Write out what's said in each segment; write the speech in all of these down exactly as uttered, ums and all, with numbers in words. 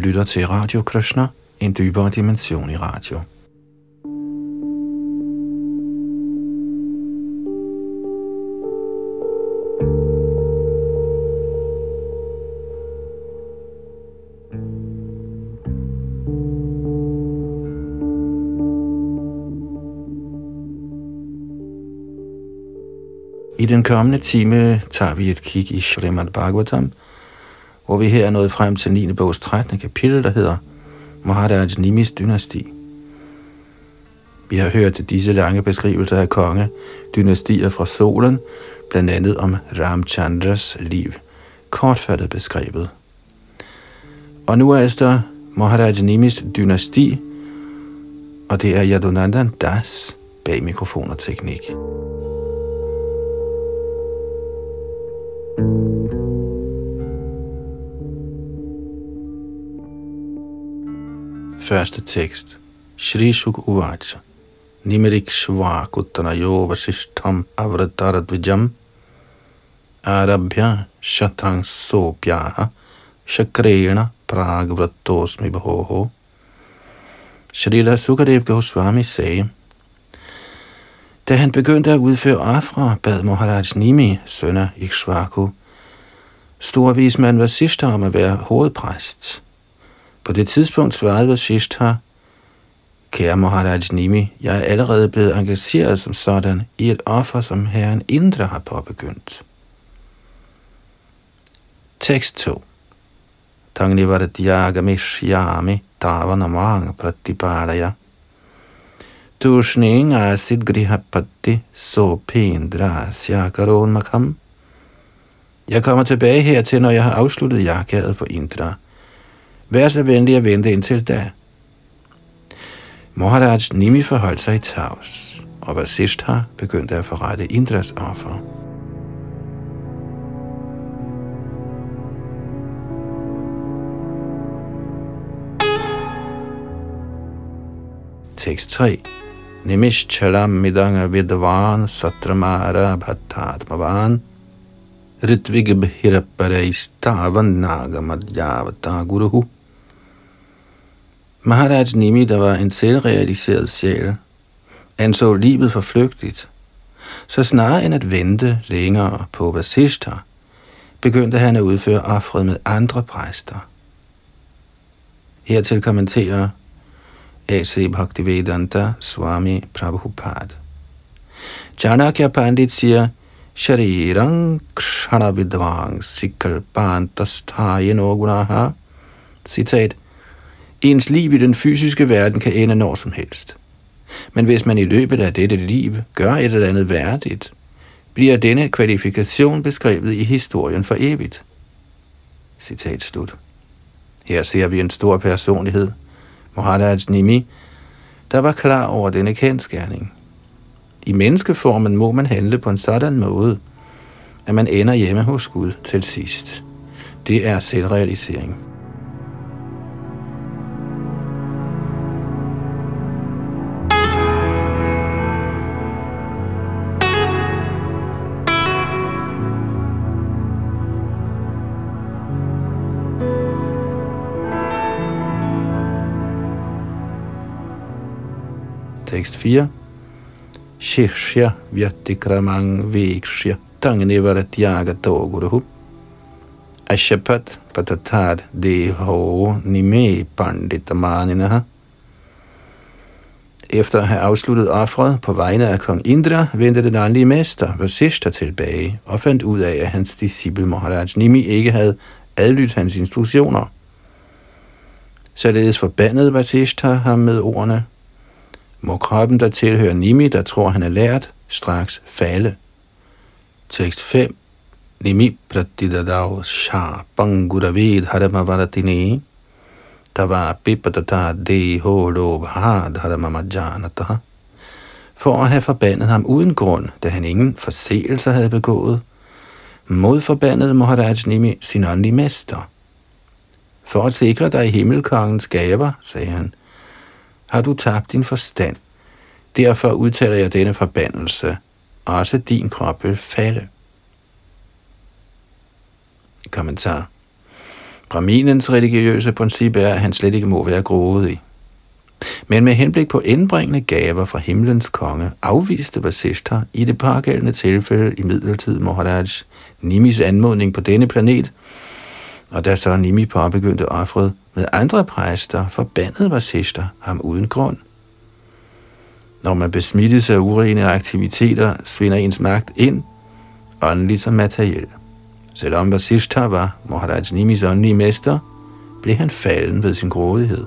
lytter til Radio Krishna, en dybere dimension i radio. I den kommende time tager vi et kig i Srimad Bhagavatam, hvor vi her er nået frem til niende bogs trettende kapitel, der hedder Maharaj Nimis dynasti. Vi har hørt disse lange beskrivelser af kongedynastier fra solen, blandt andet om Ramchandras liv, kortfattet beskrevet. Og nu er altså Maharaj Nimis dynasti, og det er Yadunandan Das bag mikrofon og teknik. Første tekst. Shri Shuk Uvacha. Nimerik Shvak Uttanayo Vasishtham Avratarad Arabhya Shatang Sopyaha Shakrena Pragvratosmi Bhoho. Shrila Sukadev Goswami sagde: Da han begyndte at udføre ofre, bad Maharaj Nimi, søn af Ikshvaku, storvismand Vasishtha om at være hovedpræst. På det tidspunkt svarede Vasishtha: Kære Maharaj Nimi, jeg er allerede blevet engageret som sådan i et offer, som herren Indra har påbegyndt. Tekst to. Tangnivardhyagamishyaami tavanamang pratipadaya Tushning asid grihapatti sopendra syakaron makham. Jeg kommer tilbage hertil, når jeg har afsluttet jagadet for Indra. Vær så venlig at vente indtil da. Maharaj Nimi forholdt sig i tavs, og Vasishtha begyndte at forrette Indras offer. Tekst tre. Nimishchalam midanga vidvan satramara bhattatmavan ritvig bhirapparaistavan nagamadhyavata guruhu. Maharaj Nimi, der var en selvrealiseret sjæl, anså livet for flygtigt. Så snarere end at vente længere på Vasishtha, begyndte han at udføre ofret med andre præster. Hertil kommenterer A C Bhaktivedanta Swami Prabhupada. Chanakya Pandit siger: Sharirang kshana vidvang sikalpantasthaye gunaha. Citat: Ens liv i den fysiske verden kan ende når som helst. Men hvis man i løbet af dette liv gør et eller andet værdigt, bliver denne kvalifikation beskrevet i historien for evigt. Citat slut. Her ser vi en stor personlighed, Maharaj Nimi, der var klar over denne kendsgerning. I menneskeformen må man handle på en sådan måde, at man ender hjemme hos Gud til sidst. Det er selvrealisering. Tekst fire. Shishya vyatikramang vikshya tangnivaratyagato guruhu ashapat patatad deho nime panditamaninaha. Efter at have afsluttet offret på vegne af kong Indra, vendte den åndelige mester Vasishtha tilbage og fandt ud af, at hans disciple Maharaj Nimi ikke havde adlydt hans instruktioner. Således forbandede Vasishtha ham med ordene: Må kroppen, der tilhører Nimi, der tror han er lært, straks falde. Tekst fem. Nimi pratidadav shapanguravid haramavaratine tava pipadata deho lobhad haramamajanataha. For at have forbandet ham uden grund, da han ingen forseelser havde begået, modforbandede Maharaj Nimi sin åndelige mester. For at sikre dig himmelkongens gaver, sagde han, har du tabt din forstand. Derfor udtaler jeg denne forbandelse. Også din krop vil falde. Kommentar. Brahminens religiøse princip er, at han slet ikke må være grådig. Men med henblik på indbringende gaver fra himlens konge, afviste Vasishtha i det pågældende tilfælde imidlertid Maharaj Nimis anmodning på denne planet, og da så Nimi påbegyndte offret med andre præster, forbandede Vasishtha ham uden grund. Når man besmittes af urene aktiviteter, svinder ens magt ind, åndelig som materiel. Selvom Vasishtha var Maharaj Nimis åndelige mester, blev han falden ved sin grådighed.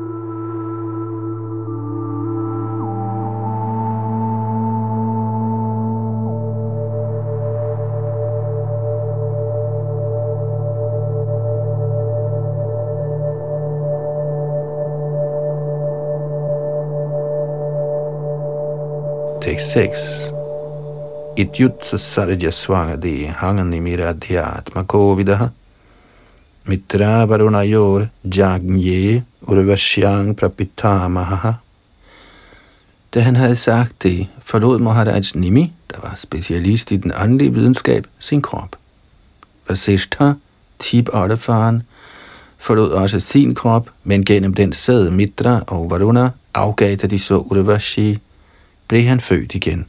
Tekst seks. Ityutsa sarja svangadi hanganimiradhyatma kovidaha mitra varunayor jagnye urvashyang prapitamaha. Da han havde sagt det, forlod Maharaj Nimi, der var specialist i den åndelige videnskab, sin krop. Vasishtha, tip-oldefaren, forlod også sin krop, men gennem den sæd Mitra og Varuna afgav, da de så Urvashi, blev han født igen.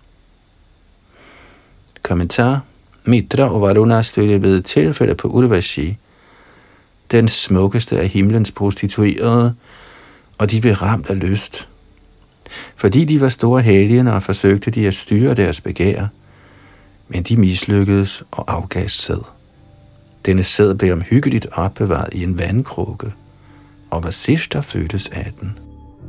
Kommentar. Mitra og Varuna stødte ved et tilfælde på Urvashi, den smukkeste af himlens prostituerede, og de blev ramt af lyst. Fordi de var store helgener, forsøgte de at styre deres begær, men de mislykkedes og afgav sæd. Denne sæd blev omhyggeligt opbevaret i en vandkrukke, og Vasishtha fødtes af den.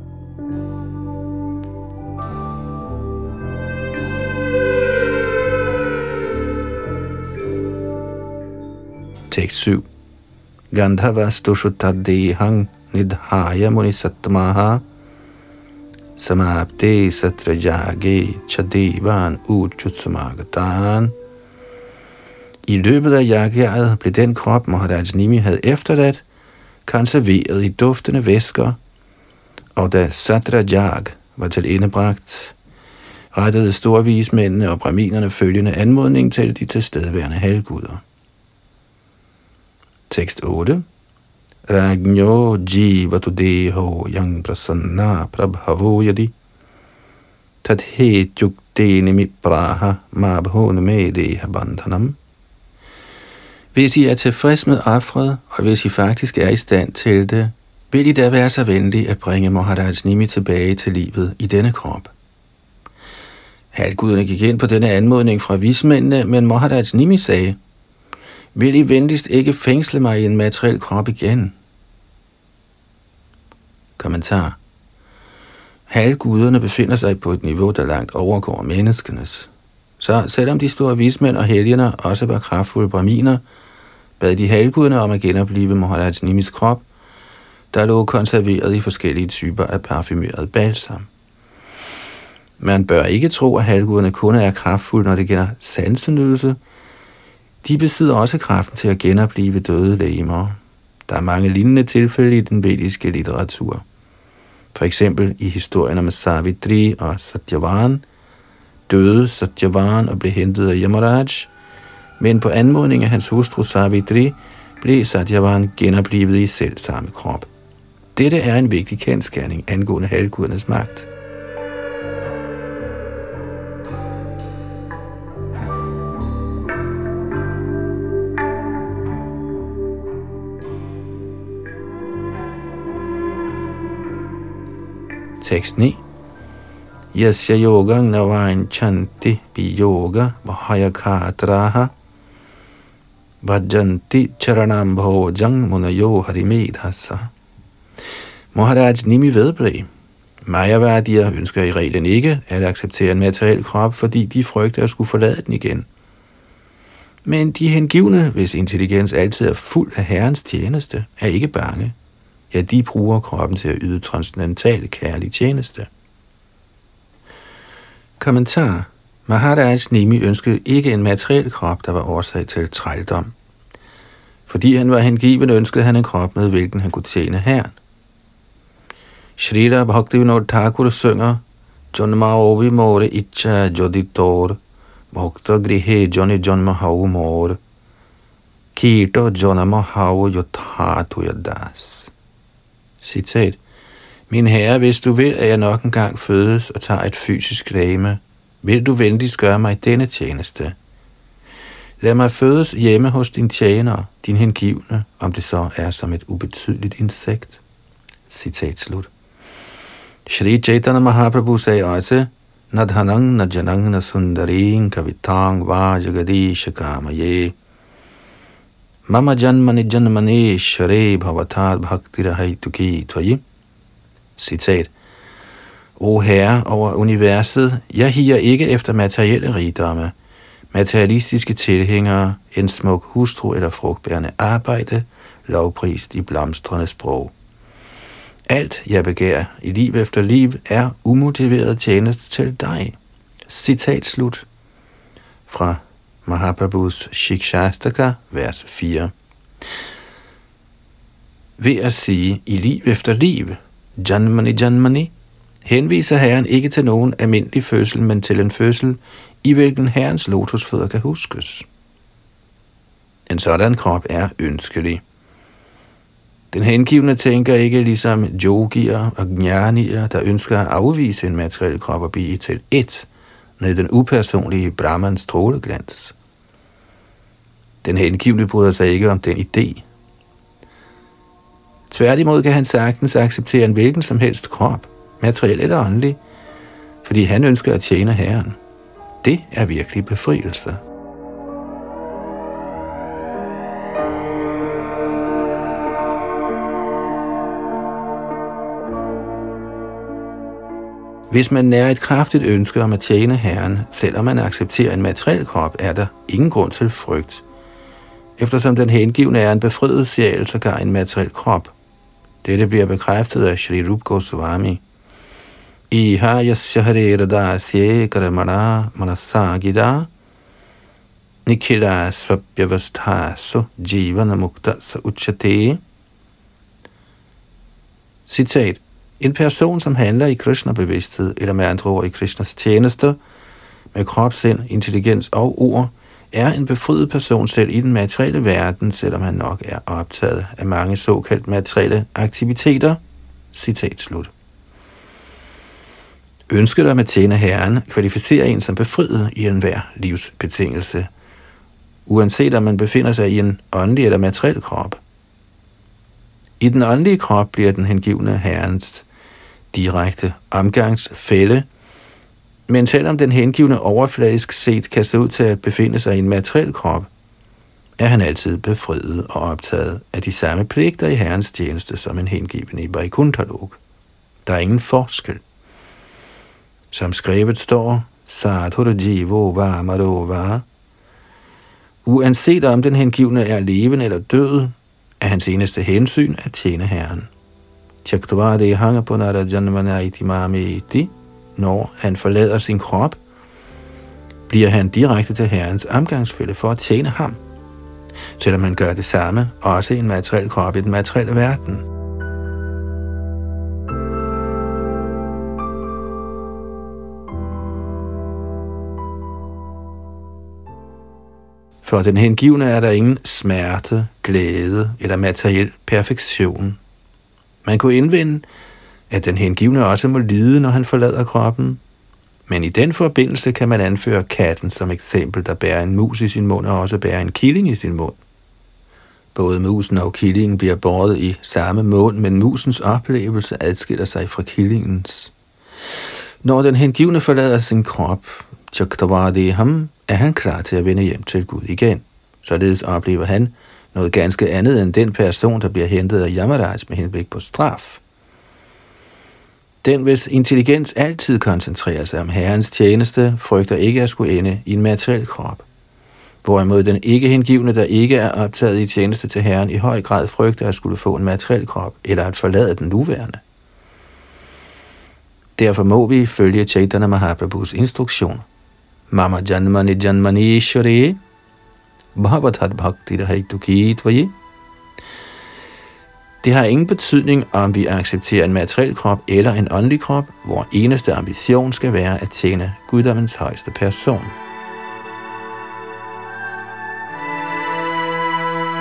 Tekst syv. Gandhavas dushuttadehang nidhaya munisatmaha samapte satrajage chadevan uchutsamagatan. I løbet af yagyaet blev den krop, Maharaj Nimi havde efterladt, konserveret i duftende væsker, og da Satrajag var til endebragt, rettede storvismændene og brahminerne følgende anmodning til de tilstedeværende halvguder. Tekst otte. Ragnyo jivatu deho yang prasanna prabhavo yadi tadhet yukdeni mipraha mabhone medeha bandhanam. Hvis I er tilfreds med offret, og hvis I faktisk er i stand til det, vil I da være så venlige at bringe Maharaj Nimi tilbage til livet i denne krop. Halvguderne gik ind på denne anmodning fra vismændene, men Maharaj Nimi sagde: vil I venligst ikke fængsle mig i en materiel krop igen? Kommentar. Halvguderne befinder sig på et niveau, der langt overgår menneskenes. Så selvom de store vismænd og helgener også var kraftfulde brahminer, bad de halvguderne om at genoplive Maharaj Nimis krop, der lå konserveret i forskellige typer af parfumeret balsam. Man bør ikke tro, at halvguderne kun er kraftfulde, når det gælder sansenydelse. De besidder også kraften til at genoplive døde legemer. Der er mange lignende tilfælde i den vediske litteratur. For eksempel i historien om Savitri og Satyavan døde Satyavan og blev hentet af Yamaraj, men på anmodning af hans hustru Savitri blev Satyavan genoplivet i selv samme krop. Dette er en vigtig kendsgerning angående halvgudernes magt. Tekst ni. Yasya yogang navain chanti bi yoga vahayakatraha bhajanti charanam bhojang munayo harimedhasa. Maharaj Nimi vedblev: Mayavadier ønsker i reglen ikke at acceptere en materiel krop, fordi de frygter at skulle forlade den igen. Men de hengivne, hvis intelligens altid er fuld af Herrens tjeneste, er ikke bange. Ja, de bruger kroppen til at yde transcendental kærlig tjeneste. Kommentar. Maharaj Nimi ønskede ikke en materiel krop, der var årsag til trældom. Fordi han var hengiven, ønskede han en krop, med hvilken han kunne tjene Herren. Shrila Bhaktivinoda Thakur synger: Jonmaovi more icha joditor bhakta grihe joni jonma haumore Kito jonamo hao yothatu yadas. Citat. Min herre, hvis du vil, at jeg nok engang fødes og tager et fysisk legeme, vil du venligst gøre mig denne tjeneste. Lad mig fødes hjemme hos din tjener, din hengivne, om det så er som et ubetydeligt insekt. Citat slut. Shri Chaitanya Mahaprabhu sagde også, Nadhanang najanang nasundaring kavitang vajagadish kamaye. Mama janmani janmani share bhavatad bhaktirahaytuki tvayi. Citat. O herre over universet, jeg higer ikke efter materielle rigdomme, materialistiske tilhængere, en smuk hustru eller frugtbærende arbejde, lovprist i blomstrende sprog. Alt, jeg begærer i liv efter liv, er umotiveret tjeneste til dig. Citat slut. Fra Mahaprabhus Shikshastaka, vers fire. Ved at sige i liv efter liv, Janmani Janmani, henviser Herren ikke til nogen almindelig fødsel, men til en fødsel, i hvilken Herrens lotusfødder kan huskes. En sådan krop er ønskelig. Den hengivne tænker ikke ligesom yogier og gnanier, der ønsker at afvise en materiel krop og blive til ét med den upersonlige Brahmans stråleglans. Den hengivne bryder sig ikke om den idé. Tværtimod kan han sagtens acceptere en hvilken som helst krop, materiel eller åndelig, fordi han ønsker at tjene Herren. Det er virkelig befrielse. Hvis man nærer et kraftigt ønske om at tjene Herren, selvom man accepterer en materiel krop, er der ingen grund til frygt. Eftersom den hengivne er en befriet sjæl, så gør en materiel krop. Dette bliver bekræftet af Shri Rupa Goswami. Iha yasya hare radasye karamana manasagida nikhila svabhyavasthaso jivana mukta sa uchate. Citat. En person, som handler i Krishna-bevidsthed, eller med andre ord i Krishnas tjenester, med krop, sind, intelligens og ord, er en befriet person selv i den materielle verden, selvom han nok er optaget af mange såkaldt materielle aktiviteter. Citat slut. Ønsket om at tjene Herren kvalificerer en som befriet i enhver livsbetingelse, uanset om man befinder sig i en åndelig eller materiel krop. I den åndelige krop bliver den hengivne Herrens direkte omgangsfælle, men selvom den hengivne overfladisk set kan se ud til at befinde sig i en materiel krop, er han altid befriet og optaget af de samme pligter i Herrens tjeneste som en hengiven i Vaikuntha-lok. Der er ingen forskel. Som skrevet står, Sadhura jivo va marova. Uanset om den hengivne er levende eller død, er hans eneste hensyn at tjene Herren. Tyaktavade hanga punara janmana iti mameti. Når han forlader sin krop, bliver han direkte til Herrens omgangsfælle for at tjene ham, selvom han gør det samme, også i en materiel krop i den materielle verden. For den hengivne er der ingen smerte, glæde eller materiel perfektion. Man kunne indvende, at den hengivne også må lide, når han forlader kroppen. Men i den forbindelse kan man anføre katten som eksempel, der bærer en mus i sin mund og også bærer en killing i sin mund. Både musen og killingen bliver båret i samme mund, men musens oplevelse adskiller sig fra killingens. Når den hengivne forlader sin krop, Chaktavadeham, er han klar til at vende hjem til Gud igen. Således oplever han noget ganske andet end den person, der bliver hentet af Yamaraj med henblik på straf. Den, hvis intelligens altid koncentrerer sig om Herrens tjeneste, frygter ikke at skulle ende i en materiel krop. Hvorimod den ikke hengivne, der ikke er optaget i tjeneste til Herren, i høj grad frygter at skulle få en materiel krop, eller at forlade den nuværende. Derfor må vi følge Chaitanya Mahaprabhus instruktion. Mama janmani janmani share bhavatat bhakti rahaytuki tvayi. Det har ingen betydning, om vi accepterer en materiel krop eller en åndelig krop, hvor eneste ambition skal være at tjene guddommens højeste person.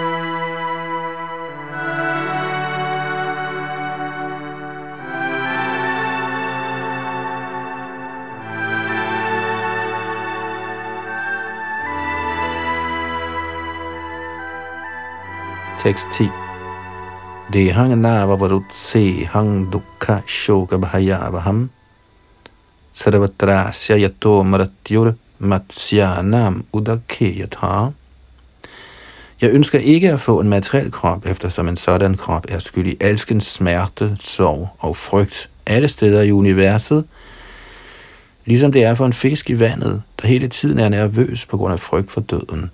Tekst ti. Dehang nava varutse hang dukha shoka bhayavaham sarvatrasya yato maratyur matsyanam udakeyatha. Jeg ønsker ikke at få en materiel krop, eftersom en sådan krop er skyld i alskens smerte, sorg og frygt alle steder i universet, ligesom det er for en fisk i vandet, der hele tiden er nervøs på grund af frygt for døden.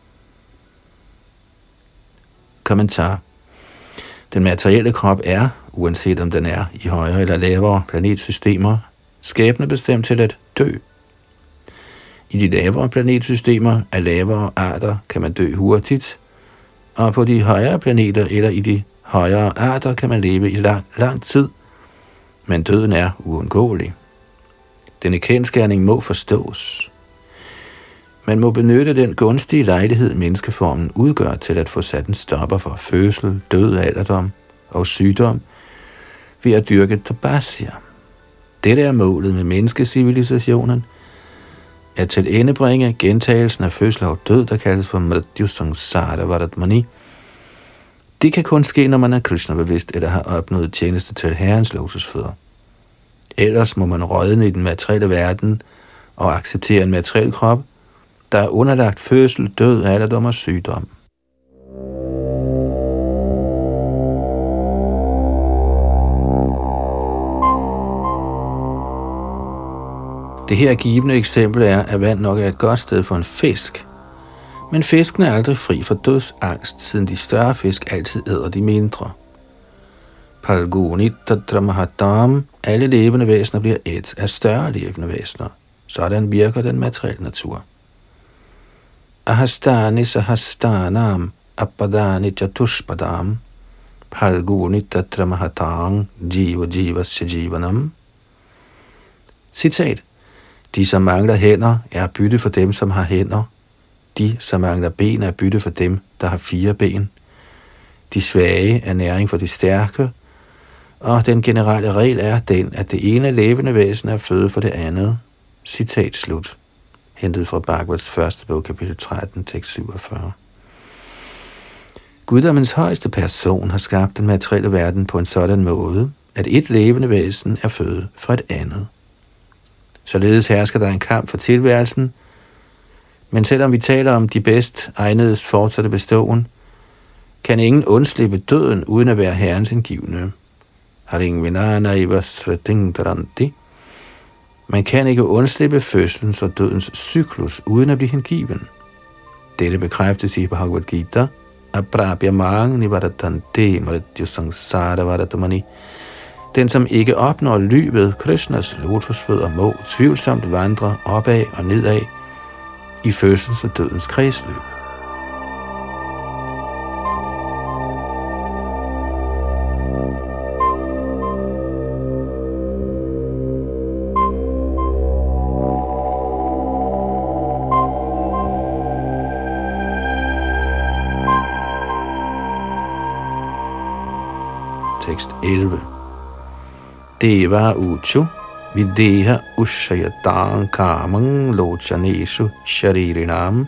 Kommentar. Den materielle krop er, uanset om den er i højere eller lavere planetsystemer, skæbne bestemt til at dø. I de lavere planetsystemer af lavere arter kan man dø hurtigt, og på de højere planeter eller i de højere arter kan man leve i lang, lang tid, men døden er uundgåelig. Denne kendsgerning må forstås. Man må benytte den gunstige lejlighed, menneskeformen udgør til at få sat en stopper for fødsel, død, alderdom og sygdom ved at dyrke tapasya. Dette er målet med menneskecivilisationen, at til endebringe gentagelsen af fødsel og død, der kaldes for mrityu samsara varatmani. Det kan kun ske, når man er Krishna-bevidst eller har opnået tjeneste til Herrens lotusfødder. Ellers må man rådne i den materielle verden og acceptere en materiel krop, der er underlagt fødsel, død, alderdom og sygdom. Det her givende eksempel er, at vand nok er et godt sted for en fisk. Men fisken er aldrig fri for dødsangst, siden de større fisk altid æder de mindre. Palgunitadramahadam, alle levende væsener bliver et af større levende væsener. Sådan virker den materielle natur. Ahastani sahastanam apadani chatushpadam Palgunitadramahadam jiva jivasya jivanam. Citat. De, som mangler hænder, er bytte for dem, som har hænder. De, som mangler ben, er bytte for dem, der har fire ben. De svage er næring for de stærke, og den generelle regel er den, at det ene levende væsen er føde for det andet. Citat slut. Hentet fra Bhagavats første bog, kapitel tretten, tekst syvogfyrre. Guddommens højeste person har skabt den materielle verden på en sådan måde, at et levende væsen er føde for et andet. Således hersker der en kamp for tilværelsen, men selvom vi taler om de bedst egnedes fortsatte beståen, kan ingen undslippe døden uden at være Herrens indgivne. Man kan ikke undslippe fødselens og dødens cyklus uden at blive hengiven. Dette bekræftes i Bhagavad Gita, Aprabhyamang nivaratante mrityu samsara varatmani. Den, som ikke opnår ly ved Krishnas lotusfødder, må tvivlsomt vandre opad og nedad i fødsels og dødens kredsløb. Tekst elleve. Deva uchu videha ushayatang kamang lochaneshu sharirinam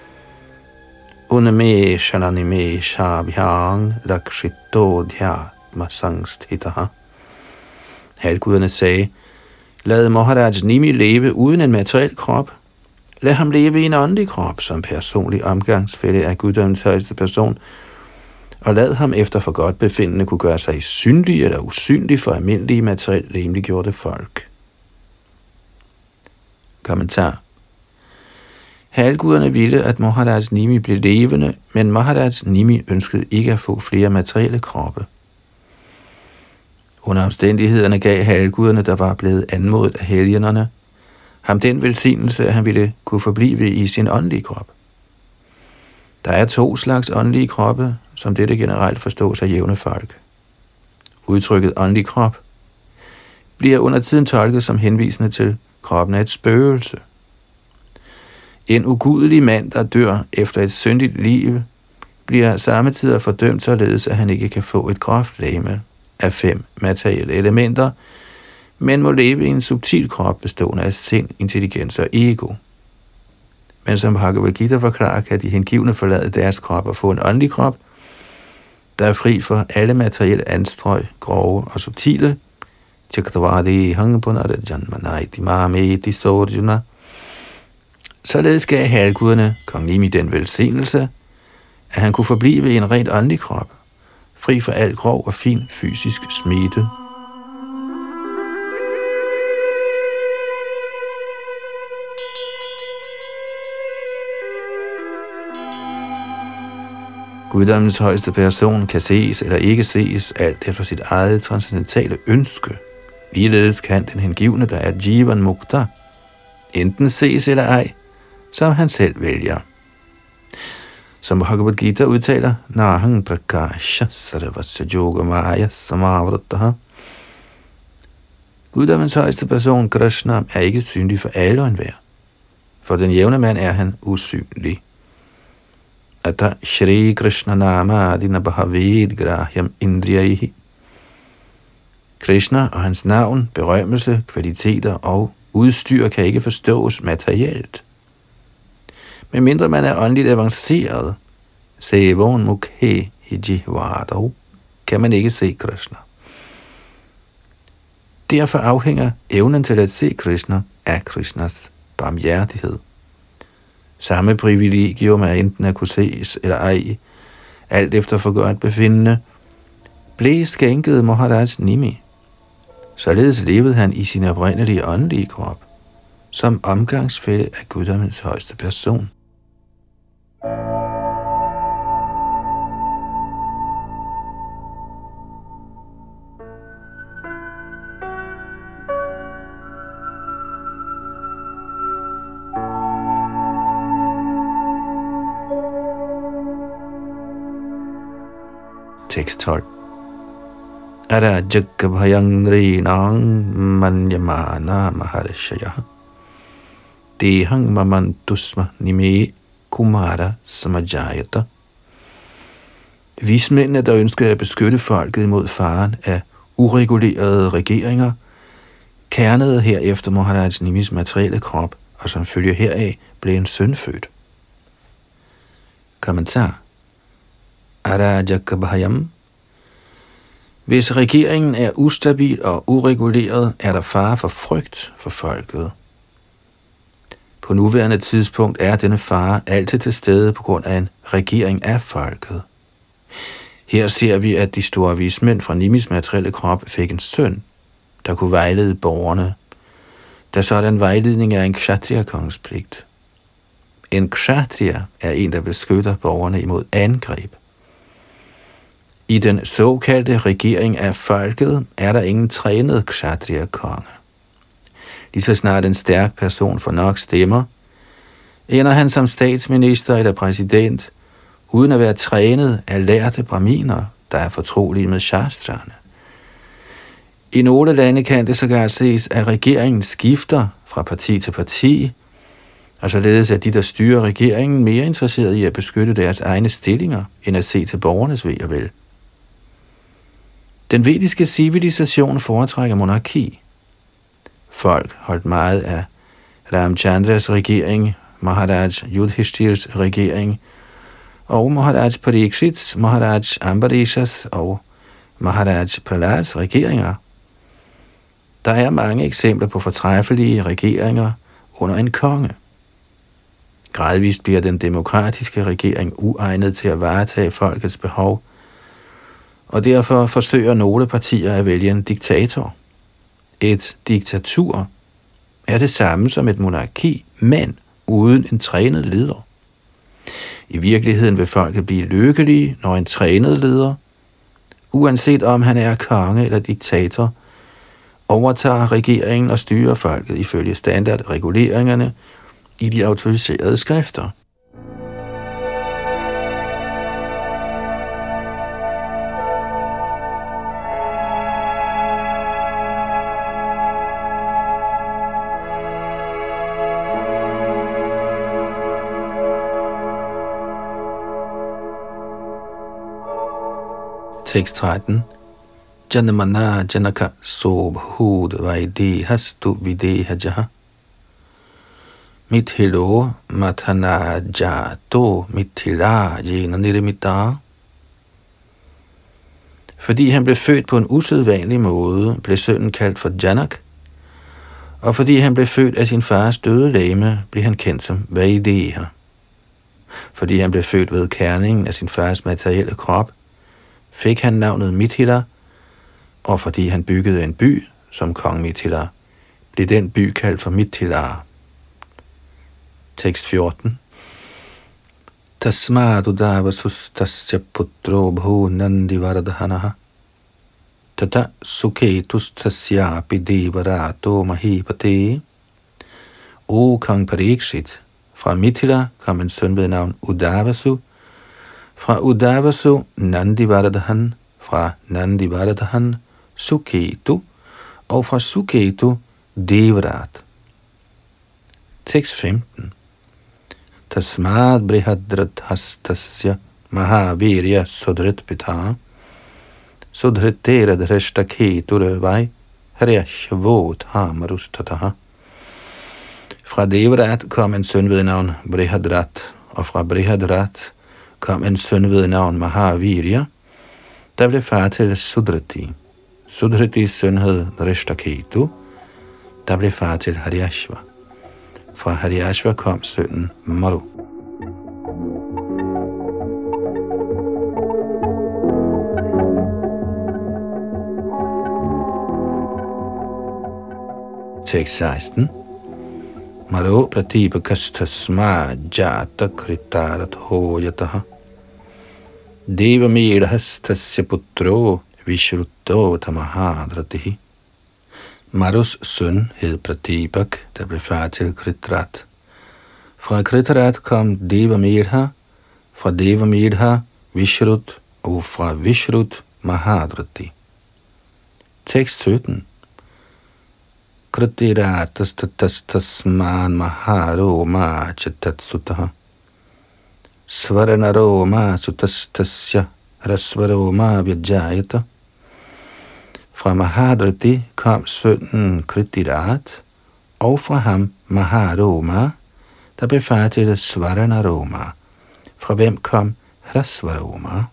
unameshananime shabhyang lakshito dhyatma sangsthitaha. Halvguderne sagde, lad Maharaj Nimi leve uden en materiel krop. Lad ham leve i en åndelig krop som personlig omgangsfælle af guddommens højeste person, og lad ham efter for godt befindende kunne gøre sig synlig eller usynlig for almindelige materielt legemliggjorte folk. Kommentar. Halvguderne ville, at Maharaj Nimi blev levende, men Maharaj Nimi ønskede ikke at få flere materielle kroppe. Under omstændighederne gav halvguderne, der var blevet anmodet af helgenerne, ham den velsignelse, at han ville kunne forblive i sin åndelige krop. Der er to slags åndelige kroppe, som dette generelt forstås af jævne folk. Udtrykket åndelig krop bliver under tiden tolket som henvisende til kroppen af et spøgelse. En ugudelig mand, der dør efter et syndigt liv, bliver samme tid fordømt således, at han ikke kan få et groft legeme af fem materielle elementer, men må leve i en subtil krop bestående af sind, intelligens og ego. Men som Bhagavad Gita forklarer, kan de hengivne forlade deres krop og få en åndelig krop, der er fri for alle materielle anstrøg, grove og subtile. Således gav halvguderne kong Nimi den velsignelse, at han kunne forblive i en rent åndelig krop, fri for al grov og fin fysisk smitte. Guddommens højeste person kan ses eller ikke ses, alt efter sit eget transcendentale ønske. Ligeledes kan den hengivne, der er Jivan Mukta, enten ses eller ej, som han selv vælger. Som Bhagavad Gita udtaler, Nahang Prakasha Sarvasya Yogamaya Samavrataha. Guddommens højeste person, Krishna, er ikke synlig for alle og enhver. For den jævne mand er han usynlig. Ata Shri Krishna Nama Adina Bhavid Grahyam Indriyaihi. Krishna og hans navn, berømmelse, kvaliteter og udstyr kan ikke forstås materielt. Men mindre man er åndeligt avanceret, Sevon Mukhe Hijivado, kan man ikke se Krishna. Derfor afhænger evnen til at se Krishna af Krishnas barmhjertighed. Samme privilegium er enten at kunne ses eller ej, alt efter for godt befindende, blev skænket Maharaj Nimi. Således levede han i sin oprindelige åndelige krop, som omgangsfælle af guddommens højeste person. Tekst tolv. Arajaka bhayangrinang manyamana maharshaya dehang mamantusma nime kumara samajayata. Vismændene, der ønskede at beskytte folket imod faren af uregulerede regeringer, kernede herefter Maharaj Nimis materielle krop, og som følge heraf blev en søn født. Kommentar. Arajaka bhayam. Hvis regeringen er ustabil og ureguleret, er der fare for frygt for folket. På nuværende tidspunkt er denne fare altid til stede på grund af en regering af folket. Her ser vi, at de store vismænd fra Nimis materielle krop fik en søn, der kunne vejlede borgerne, da sådan vejledning er en kshatriya-kongens pligt. En kshatriya er en, der beskytter borgerne imod angreb. I den såkaldte regering af folket er der ingen trænet kshatriya-konge. Lige så snart en stærk person får nok stemmer, ender han som statsminister eller præsident, uden at være trænet af lærte brahminer, der er fortrolige med shastrene. I nogle lande kan det sågar ses, at regeringen skifter fra parti til parti, og således er de, der styrer regeringen, mere interesserede i at beskytte deres egne stillinger, end at se til borgernes ve og vel. Den vediske civilisation foretrækker monarki. Folk holdt meget af Ramchandras regering, Maharaj Yudhishthirs regering, og Maharaj Parikshits, Maharaj Ambarishas og Maharaj Prahlads regeringer. Der er mange eksempler på fortræffelige regeringer under en konge. Gradvist bliver den demokratiske regering uegnet til at varetage folkets behov, og derfor forsøger nogle partier at vælge en diktator. Et diktatur er det samme som et monarki, men uden en trænet leder. I virkeligheden vil folket blive lykkelige, når en trænet leder, uanset om han er konge eller diktator, overtager regeringen og styrer folket ifølge standardreguleringerne i de autoriserede skrifter. Tekst tretten. Janamana janaka sobhud vaidehastu videhajaha mithilo mathana jato mithila jena nirmita. Fordi han blev født på en usædvanlig måde, blev sønnen kaldt for Janak, og fordi han blev født af sin fars døde legeme, blev han kendt som Vaideha. Fordi han blev født ved kerningen af sin fars materielle krop, fik han navnet Mithila, og fordi han byggede en by som kong Mithila, blev den by kaldt for Mithila. Tekst fjorten. Tasmad udavasus tasya putro bhu nandi vardhanaha tata suketus tasyapi devarato mahipate. O kong Parikshit, fra Mithila kom en søn ved navn Udavasu, fra Udavasu Nandivardhan, fra Nandivardhan Suketu, og fra Suketu Devrat. Tekst femten. Tasmad brihadrat hastasya mahavirya sudrit pita sudritera dhrishta keturvai haryashavot hamarustataha. Fra Devrat kom en søn ved navn Brihadrat, og fra Brihadrat kom en søn ved navn Mahavirya, der blev far til Sudriti. Sudritis søn hed Drishtaketu, der blev far til Haryashva. Fra Haryashva kom sønnen Maru. Tekst seksten. Maro pratipakastasma jata kritarat hojataha deva medhastasya putro vishrutto tamahadratihi. Marus søn hed Pratipak, der blev far til Kritrat. Fra Kritrat kom Deva Medha, fra Deva Medha Vishrut, og fra Vishrut Mahadrati. Tekst sytten. Kritiratastastasman maharoma chatatsutaha svaranaroma sutastasya rasvaroma vyajayata. Fra Mahadrati kom sønnen Kritirat, og fra ham Maharoma, der blev far til Svaranaroma, fra hvem kom Hrasvaroma.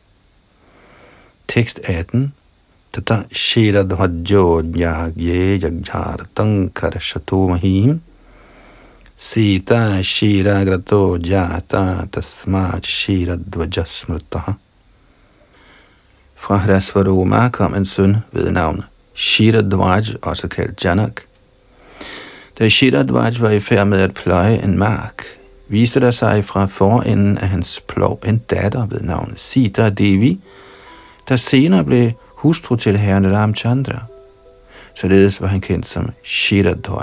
Tekst atten. Tata shiradhvajjo jagye jagjartang karashatomahim sita shiragrato jata tasmat shiradvajasmrtaha. Fra Hrasvaroma kom en søn ved navn Shiradhvaj, også kaldt Janak. Da Shiradhvaj var i færd med at pløje en mark, viste der sig fra forenden af hans plov en datter ved navn Sita Devi, der senere blev hustru til herren Ramchandra. Således var han kendt som Shiradhvaj.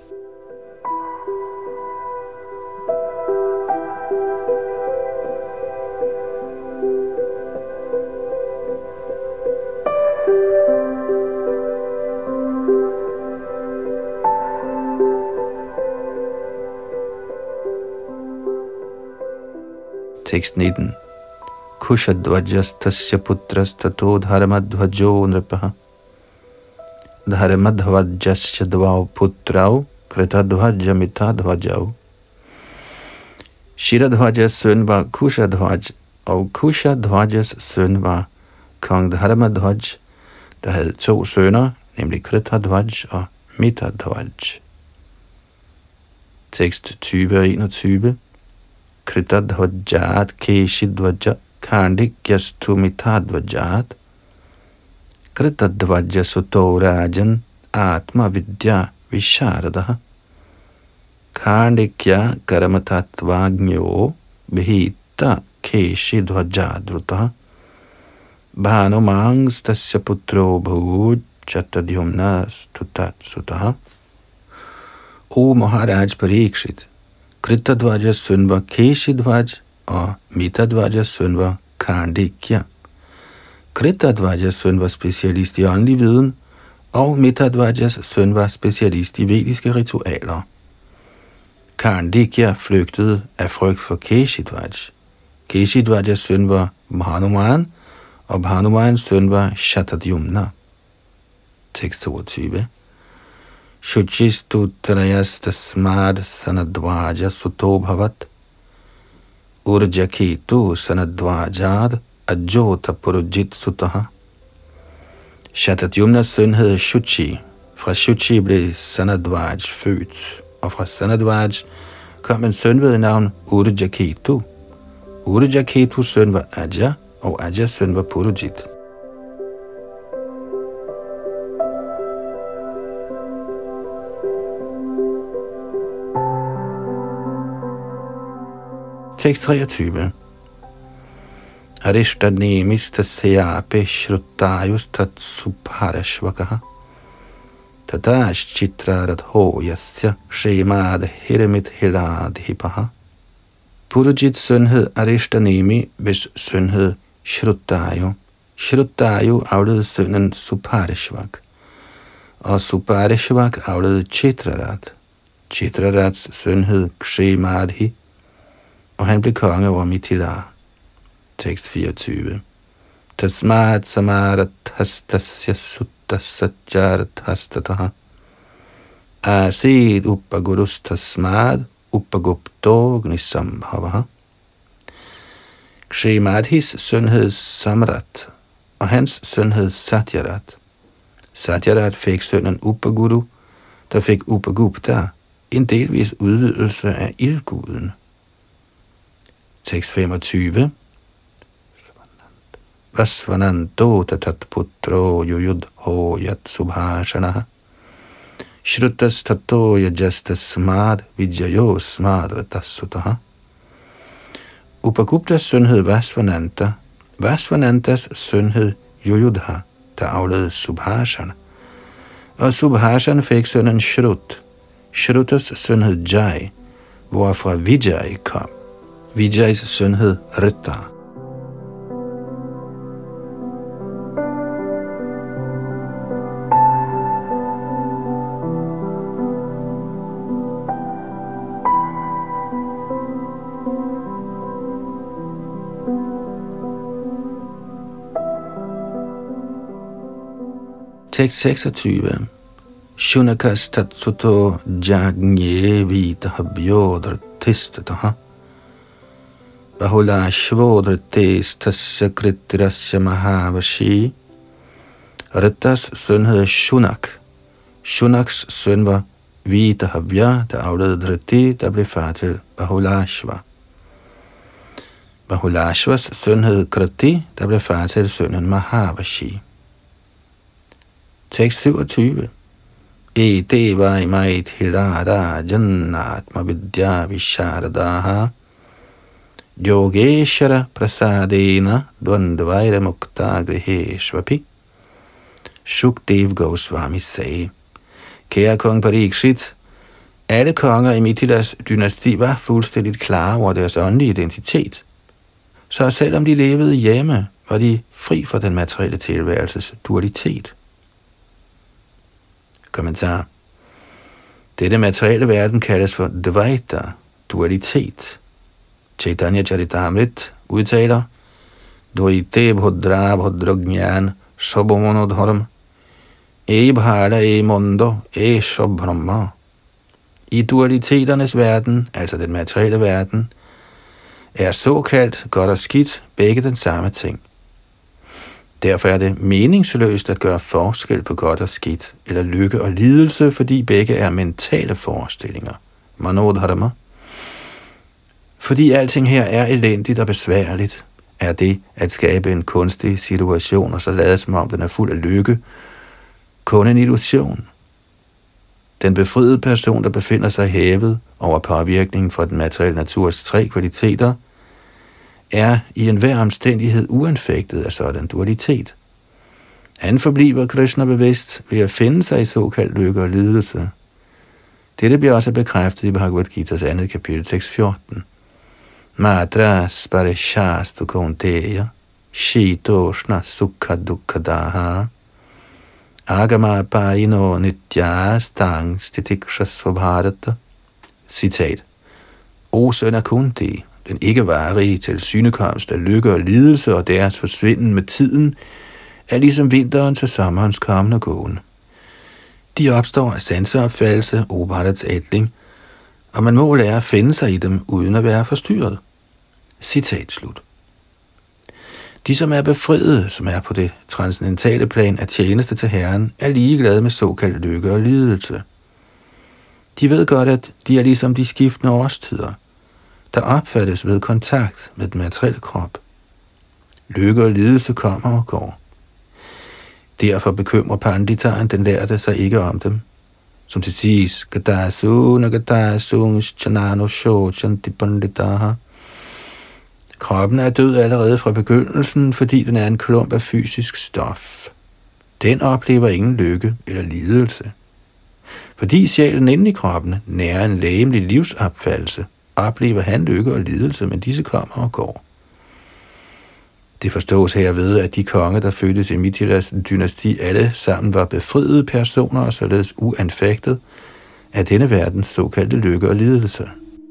Tekst nitten. Kushadvajas tasya putras tato dharmadvajo nripaha dharmadvajasya dvav putrav kritadvaja mitadvajav. Shiradhvajas søn var Kushadhvaj, og Kushadhvajas søn var kong Dharmadvaj, der havde to sønner, nemlig Kritadvaj og Mitadvaj. Tekst tyve og enogtyve. Kritadvajat keshidvaja kandikyastu mitadvajat Kritadvaja suto rajan atma vidya visharadaha Kandikya karamatatvagnyo bihita keshidvajadrutaha bhanumangs tasya putro bhuj chatadyumnas tutatsutaha. O Maharaj Parikshit, Kritadvajas søn var Keshidvaj, og Mitadvajas søn var Kandikya. Kritadvajas søn var specialist i åndelig viden, og Mitadvajas søn var specialist i vediske ritualer. Kandikya flygtede af frygt for Keshidvaj. Keshidvajas søn var Bhanuman, og Bhanumans søn var Shatadyumna. Tekst toogtyve. Shuchistu trayas tasmad sanadvaja suto bhavat urjaketu sanadvajad ajota purujit sutaha Shatadyumnas søn hed Shuchi. Fra Shuchi blev Sanadvaj født, og fra Sanadvaj kom en søn ved navn Urajaketu. Urajaketus søn var Aja, og Ajas søn var Purujit. Tekst treogtyve. Arishtadnemis tasyape shrutayus tatsupharashvakaha tadash chitraradho yasya shemad hiramit hiradhipaha. Purujits søn hed Arishtadnemi, hvis søn hed Shrutayu. Shrutayu afledede sønnen Suparishvak, og Suparishvak afledede Chitrarat. Chitrarats søn hed Kshemadhi, og han blev konge over Mithila. Tekst fireogtyve. Tasmat samarat hastasya sutta satjarat hastataha asid uppagurus tasmad uppagupto gnisambhavaha. Kshemadhis søn hed Samrat, og hans søn hed Satyarat. Satyarat fik sønnen Uppaguru, der fik Uppagupta, en delvis udvidelse af ildguden. Tekst femogtyve. Vasvananto tatat putro yuyudho yat subhashanaha shrutas tato yajastas smad vijayo smadratas sutaha. Upaguptas søn hed Vasvananta. Vasvanantas søn hed Yuyudha, der afledede Subhashana. Og Subhashana fik sønnen Shrut. Shrutas søn hed Jai, hvorfra Vijay kom. Vijay's søn hed Ritta. Tekst seksogtyve. Shunakas tatsuto jagnye vitahabhyodra tistataha bahula shvodra testasya kritirasya mahavashi. Rittas søn hed Shunak. Shunaks søn var Vitahabhya, der afledede Driti, der blev far til Bahulashva. Bahulashvas søn hed Kriti, der blev far til sønnen Mahavashi. Tekst syvogtyve. E deva imait hilada jannatma vidya visharadaha yogeshara prasadena dvandvaira mukta griheshvapi. Shukdev Goswami sagde: Kære kong Parikshit, alle konger i Mithilas dynasti var fuldstændigt klare over deres åndelige identitet. Så selvom de levede hjemme, var de fri for den materielle tilværelses dualitet. Kommentar. Dette materielle verden kaldes for Dvaita, dualitet. Chaitanya Charitamrit udtaler: Dvaite bhodra bhodragyan sabhamonodharam e bhara e mondo e shabhrama. I dualiteternes verden, altså den materielle verden, er såkaldt godt og skidt begge den samme ting. Derfor er det meningsløst at gøre forskel på godt og skidt, eller lykke og lidelse, fordi begge er mentale forestillinger. Manodharma. Fordi alting her er elendigt og besværligt, er det at skabe en kunstig situation og så lade som om den er fuld af lykke, kun en illusion. Den befriede person, der befinder sig hævet over påvirkningen fra den materielle naturs tre kvaliteter, er i enhver omstændighed uanfægtet af sådan dualitet. Han forbliver Krishna bevidst ved at finde sig i såkaldt lykke og lidelse. Dette bliver også bekræftet i Bhagavad Gita's andet kapitel, tekst fjorten. Matra sparishastu kaunteya shitoshna sukha dukkadaha agama paino nitya stang stitikshas svabharata. Citat. O søn af Kunti, den ikke varige tilsynekomst af lykke og lidelse og deres forsvinden med tiden, er ligesom vinteren til sommerens kommende gåen. De opstår af sanseopfattelse, Bharats ætling, og man må lære at finde sig i dem, uden at være forstyrret. Citat slut. De, som er befriede, som er på det transcendentale plan af tjeneste til Herren, er ligeglade med såkaldt lykke og lidelse. De ved godt, at de er ligesom de skiftende årstider, der opfattes ved kontakt med den materielle krop. Lykke og lidelse kommer og går. Derfor bekymrer panditaren den lærte sig ikke om dem. Som til siges, Gadasun og Gadasun Chanano Shochanti Panditaha. Kroppen er død allerede fra begyndelsen, fordi den er en klump af fysisk stof. Den oplever ingen lykke eller lidelse. Fordi sjælen inde i kroppen nærer en legemlig livsopfattelse, oplever han lykke og lidelse, men disse kommer og går. Det forstås herved, at de konger, der fødtes i Mithilas dynasti, alle sammen var befriede personer og således uanfægtet af denne verdens såkaldte lykke og lidelse.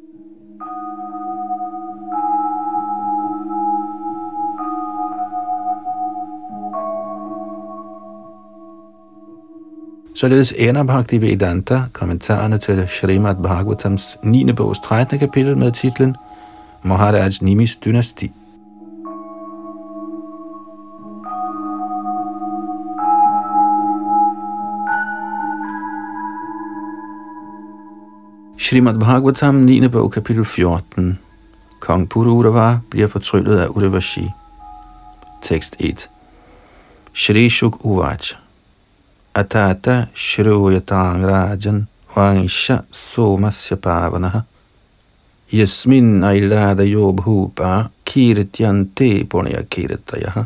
Således ender Bhaktivedanta kommentarerne til Srimad Bhagavatams niende bogs trettende kapitel med titlen Maharaj Nimis dynasti. Srimad Bhagavatam niende bog kapitel fjorten. Kong Pururava bliver fortryllet af Urvashi. Tekst et. Shri Shuk Uvach Atata Shruyatang Rajan Vangsha Somasya Pavanaha Yasmin Ailada Yobhupa Kirtyante Punya Kirtayaha.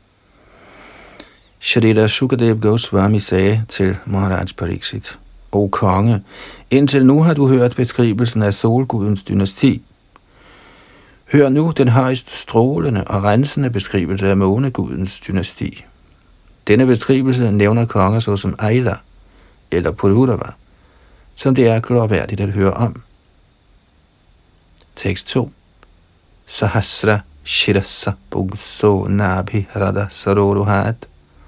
Shrita Shukadev Goswami sagde til Maharaj Pariksit: O konge, indtil nu har du hørt beskrivelsen af solgudens dynasti. Hør nu den højst strålende og rensende beskrivelse af månegudens dynasti. Denne beskrivelse nævner konger såsom Aila eller Pururava, som det er glorværdigt at høre om. Tekst to. Sahasra Shirasa Bugso Nabhi Rada Saroruhat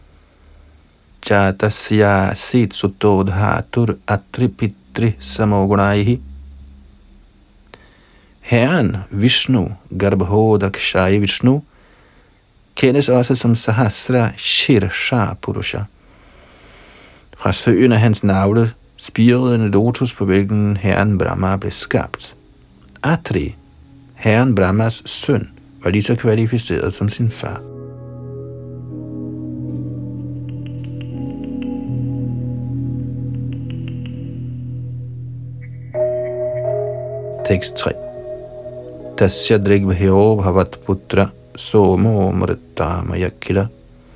Jatasya Sit Sutodhatur Atripitri Samogunaihi. Herren Vishnu, Garbhodakshai Vishnu, kendes også som Sahasra Shirsha Purusha. Fra søen af hans navle spirede en lotus, på hvilken herren Brahma blev skabt. Atri, herren Brahmas søn, var lige så kvalificeret som sin far. Tekst tre. Tasya drigvhyo bhavat putra somo mritta mayakila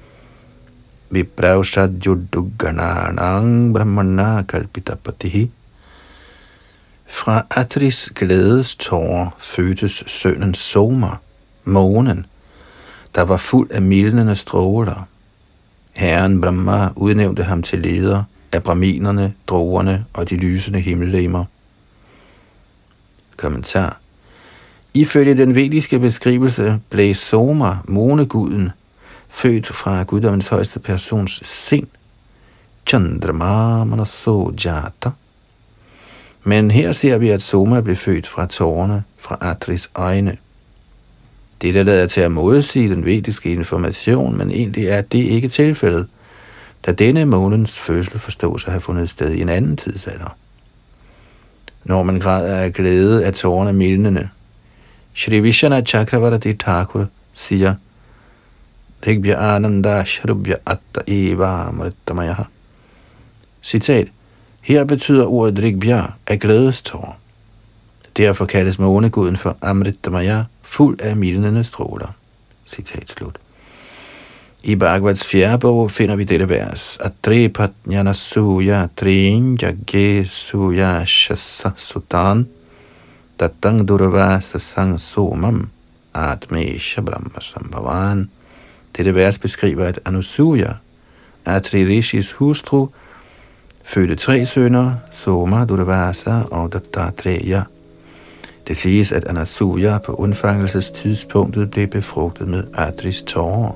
vipravshadjudugananang brahmana kalpitapatihi. Fra Atris glædes tårer fødtes sønnen Soma, månen, der var fuld af mildnende stråler. Herren Brahma udnævnte ham til leder af brahminerne, droerne og de lysende himmellegemer. Kommentar. Ifølge den vediske beskrivelse blev Soma, måneguden, født fra guddommens højeste persons sind, Chandrama Manaso Jata. Men her ser vi, at Soma blev født fra tårerne fra Atris øjne. Dette lader til at modsige den vediske information, men egentlig er det ikke tilfældet, da denne månens fødsel forstås at have fundet sted i en anden tidsalder. Når man græder af glæde af tårerne mildnende, Shri Vishana Chakravarti Thakur siger, Dhigbhya Ananda Shrubhya Atta Eva Amritamayaha. Citat. Her betyder ordet Dhigbhya af glædestår. Derfor kaldes måneguden for Amritamaya, fuld af mildnende stråler. Citat slut. I Bhagavats fjerde bog finder vi dette vers. Atre patnyana suya trin yagye suya shasa sutan tatang durvasa sang somam atmesha brahma sambhavan. Dette vers beskriver, at Anusuya, Atri Rishis hustru, fødte tre sønner, Soma, Durvasa og Dattatreya. Det siges, at Anasuya på undfangelsestidspunktet blev befrugtet med Atris tårer.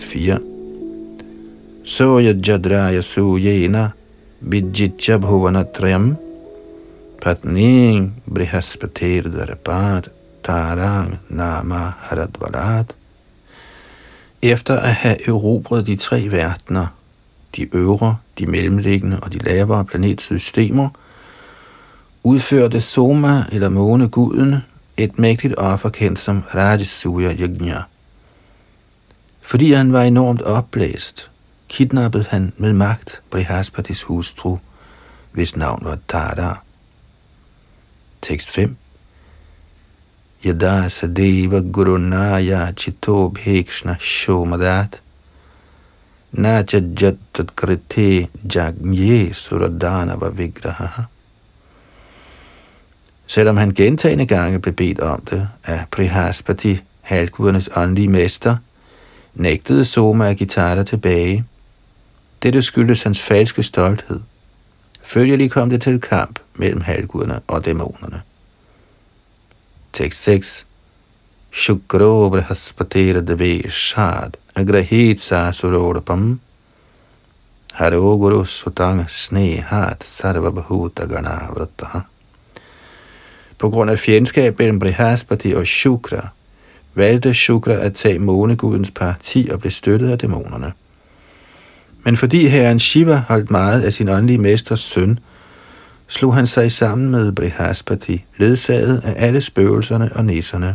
fire. Soya jadraya sujena vidjitja bhuvanatrayam patning brihaspatir darabat tarang nama haradvalat. Efter at have erobret de tre verdener, de øvre, de mellemliggende og de lavere planetsystemer, udførte Soma eller måneguden et mægtigt offer kendt som Rajasuya Yajna. Fordi han var enormt opblæst, kidnappede han med magt Brihaspatis hustru, hvis navn var Tara. Tekst fem. Yada sadeva gurunaya chito bhekshna shomadat nacha jattat krite jagnye suradanava vigraha. Selvom han gentagne gange blev bedt om det af Brihaspati, halvgudernes åndelige mester, nægtede Soma at give Tara tilbage. Dette skyldes hans falske stolthed. Følgelig kom det til kamp mellem halvguderne og dæmonerne. Tekst seks. Shukro Brihaspatira deve shad agrahit sa surodapam haroguru sutang snehat sarvabhuta ganavrataha. På grund af fjendskab mellem Brihaspati og Shukra, valgte Shukra at tage månegudens parti og blev støttet af dæmonerne. Men fordi herren Shiva holdt meget af sin åndelige mesters søn, slog han sig sammen med Brihaspati, ledsaget af alle spøgelserne og nisserne.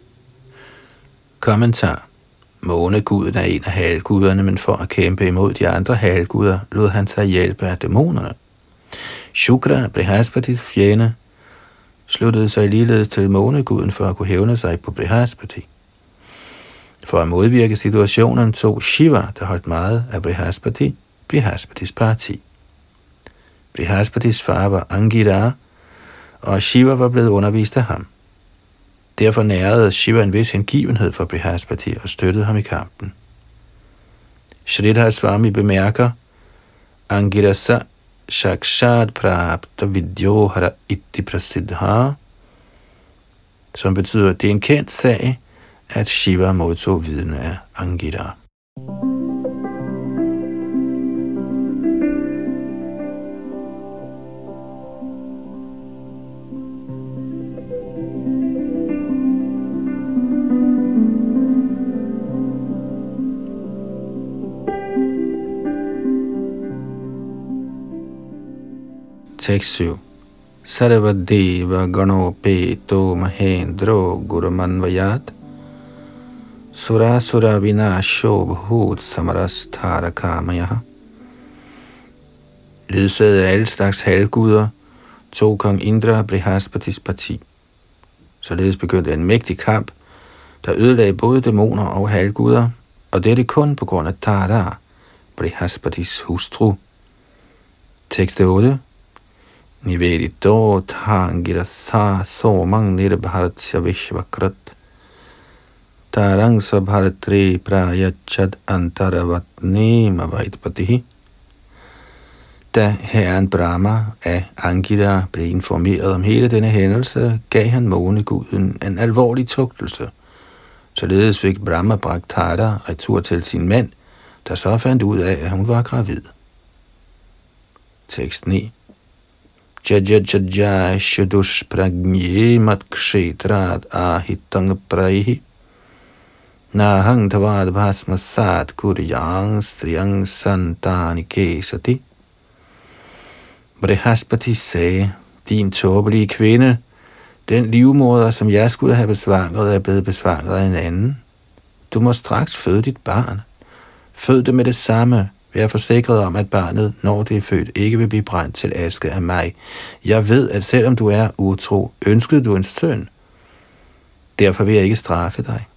Kommentar. Måneguden er en af halvguderne, men for at kæmpe imod de andre halvguder, lod han sig hjælpe af dæmonerne. Shukra, Brihaspatis fjende, sluttede sig ligeledes til måneguden for at kunne hævne sig på Brihaspati. For at modvirke situationen tog Shiva, der holdt meget af Brihaspati, Brihaspatis parti. Brihaspatis far var Angira, og Shiva var blevet undervist af ham. Derfor nærede Shiva en vis hengivenhed for Brihaspati og støttede ham i kampen. Shridhar Swami bemærker, Angirasa Shakshad Prapta Vidyohara Itti Prasiddha, som betyder, at det er en kendt sag, at Shiva modtog viden af Angira. Tekst syv. Sarvadeva Ganopeto Mahendro Gurumanvayat Surasura Vinasho Bhut Samarastarakamaya. Ledsaget af alle slags halvguder tog kong Indra Brihaspatis parti. Således begyndte en mægtig kamp, der ødelagde både dæmoner og halvguder, og dette kun på grund af Tara, Brihaspatis hustru. Tekst otte. Nivedito thangirasa somang nirbharatya vishvakrat tarang sabharatri prayachad antaravatni mavaitpatihi. Da herren Brahma af Angira blev informeret om hele denne hændelse, gav han måneguden en alvorlig tugtelse. Således fik Brahma bragt Tara retur til sin mand, der så fandt ud af, at hun var gravid. Tekst ni. Jaja jaja shudush pragnye matkshetrat ahitang praihi nahang tavad bhasmasat kuryang striyang santanike sati. Brihaspati sagde, din tåbelige kvinde, den livmoder, som jeg skulle have besvanget, er blevet besvanget af en anden. Du må straks føde dit barn. Fød det med det samme. Vær forsikret om, at barnet, når det er født, ikke vil blive brændt til aske af mig. Jeg ved, at selvom du er utro, ønskede du en søn. Derfor vil jeg ikke straffe dig.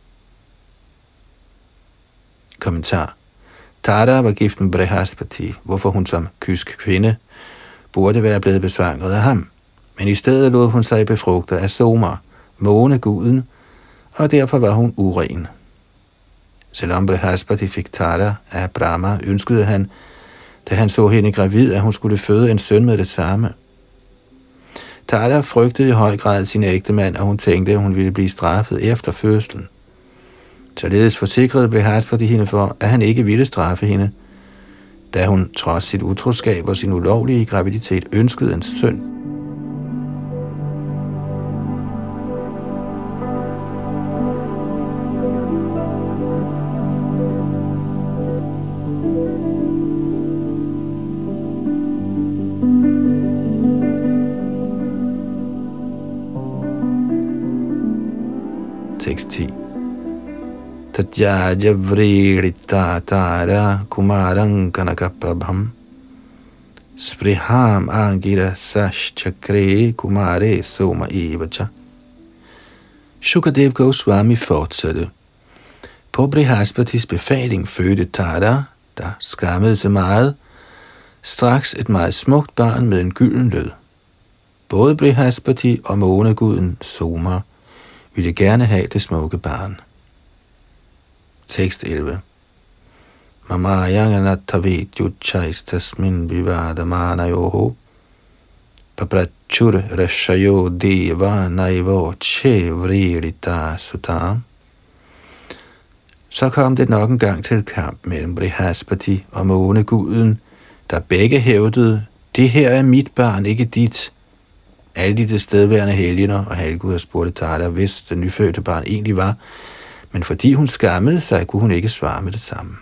Kommentar. Tara var gift med Brihaspati, hvorfor hun som kysk kvinde burde være blevet besvanget af ham. Men i stedet lod hun sig befrugte af Soma, måneguden, og derfor var hun uren. Selvom Brihaspati fik Tara af Brahma, ønskede han, da han så hende gravid, at hun skulle føde en søn med det samme. Tara frygtede i høj grad sin ægtemand, og hun tænkte, at hun ville blive straffet efter fødslen. Således forsikrede Brihaspati hende for, at han ikke ville straffe hende, da hun trods sit utroskab og sin ulovlige graviditet ønskede en søn. Tekst ti. Tatyaja vridita tara kumarang kanakaprabham spriham angira saschakre kumare soma evacha. Shukadev Goswami fortsatte. På Brihaspatis befaling fødte Tara, der skammede sig meget, straks et meget smukt barn med en gylden lød. Både Brihaspati og måneguden Soma ville gerne have det smukke barn. Tekst elleve. Mamayanganattavet yuchchaistasmin vivadamanayoho paprachur rashayo deva naivo che vririta sutam. Så kom det nok en gang til kamp mellem Brihaspati og måneguden, der begge hævdede, det her er mit barn, ikke dit. Alle de tilstedeværende helgener og halvguder spurgte Tara, hvis det nyfødte barn egentlig var, men fordi hun skammede sig, kunne hun ikke svare med det samme.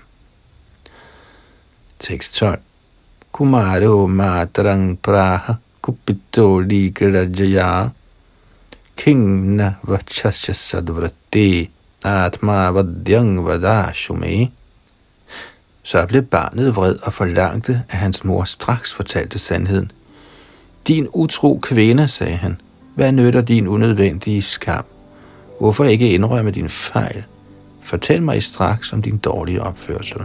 Tekst tolv. Kumaro matarang praha kupito ligrajaya kingna vachasya sadvrati atma vadyang vadashume. Så blev barnet vred og forlangte, at hans mor straks fortalte sandheden. Din utro kvinde, sagde han, hvad nytter din unødvendige skam? Hvorfor ikke indrømme din fejl? Fortæl mig straks om din dårlige opførsel.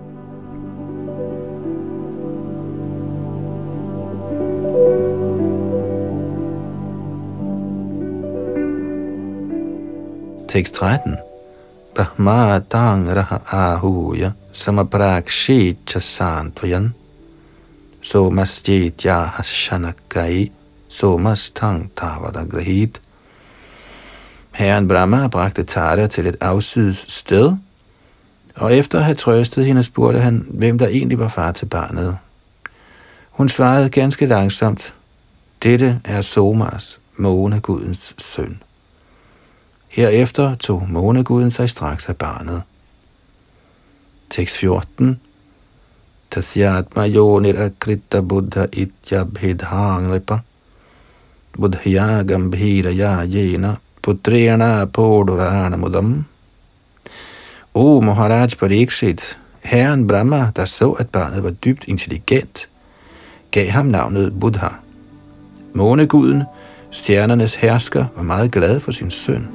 Tekst tretten. Brahma dang raha ahuya samaprakshi chasantvayan somasjetya hashanakai somastang tavadagrahit. Herren Brahma bragte Tara til et afsides sted, og efter at have trøstet hende, spurgte han, hvem der egentlig var far til barnet. Hun svarede ganske langsomt, dette er Somas, månegudens søn. Herefter tog måneguden sig straks af barnet. Tekst fjorten. Tasyatma yonir akrita buddha ityabhidhangripa buddhya gambhiraya jena putrena podurana mudam. O Maharaj Parikshit, herren Brahma, der så, at barnet var dybt intelligent, gav ham navnet Buddha. Måneguden, stjernernes hersker, var meget glad for sin søn.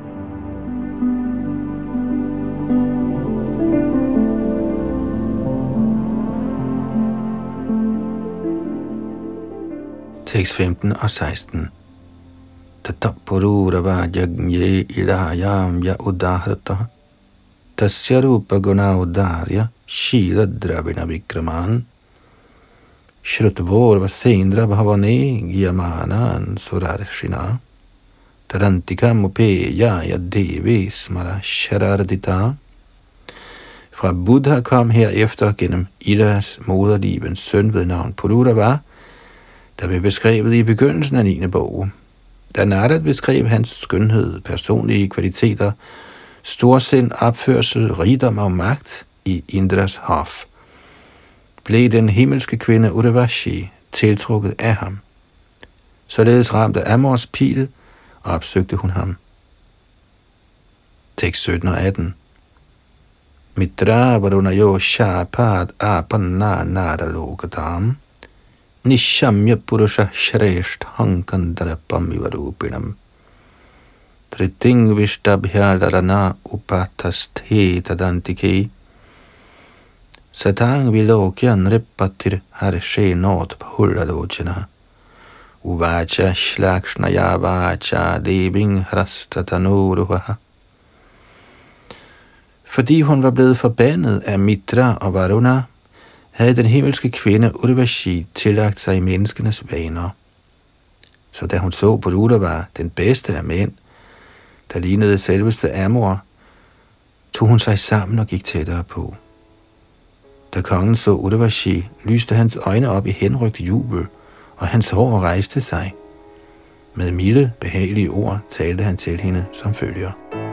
Tekst femten og seksten. Tatapururava jagnye ilahayam ya udahrata tasya rupa guna udarya shila dravina vikraman shrutvor vasendra bhavane gyamanan surarshina tarantikam upeya ya devi smara sharardita. Fra Buddha kom herefter gennem Idas moderlivens søn ved navn Pururava, der blev beskrevet i begyndelsen af niende bog. Da Narad beskrev hans skønhed, personlige kvaliteter, storsind, opførsel, rigdom og magt i Indras hof, blev den himmelske kvinde Urvashi tiltrukket af ham. Således ramt af Amors pil, opsøgte hun ham. Tekst sytten og atten. Mitra varunayo shapad apanna naralokatam nishamya purusha shresht hankandarapam ivarupinam triting vishtabhyarana upatasthe tadantike satang vilokyan ripatir harshe not bhulalochana uvacha shlakshnaya vacha deving hrastatanoruha. Fordi hun var blevet forbandet af Mitra og Varuna, havde den himmelske kvinde Urvashi tillagt sig menneskenes vaner. Så da hun så Pururava, den bedste af mænd, der lignede selveste Amor, tog hun sig sammen og gik tættere på. Da kongen så Urvashi, lyste hans øjne op i henrygt jubel, og hans hår rejste sig. Med milde, behagelige ord talte han til hende som følger.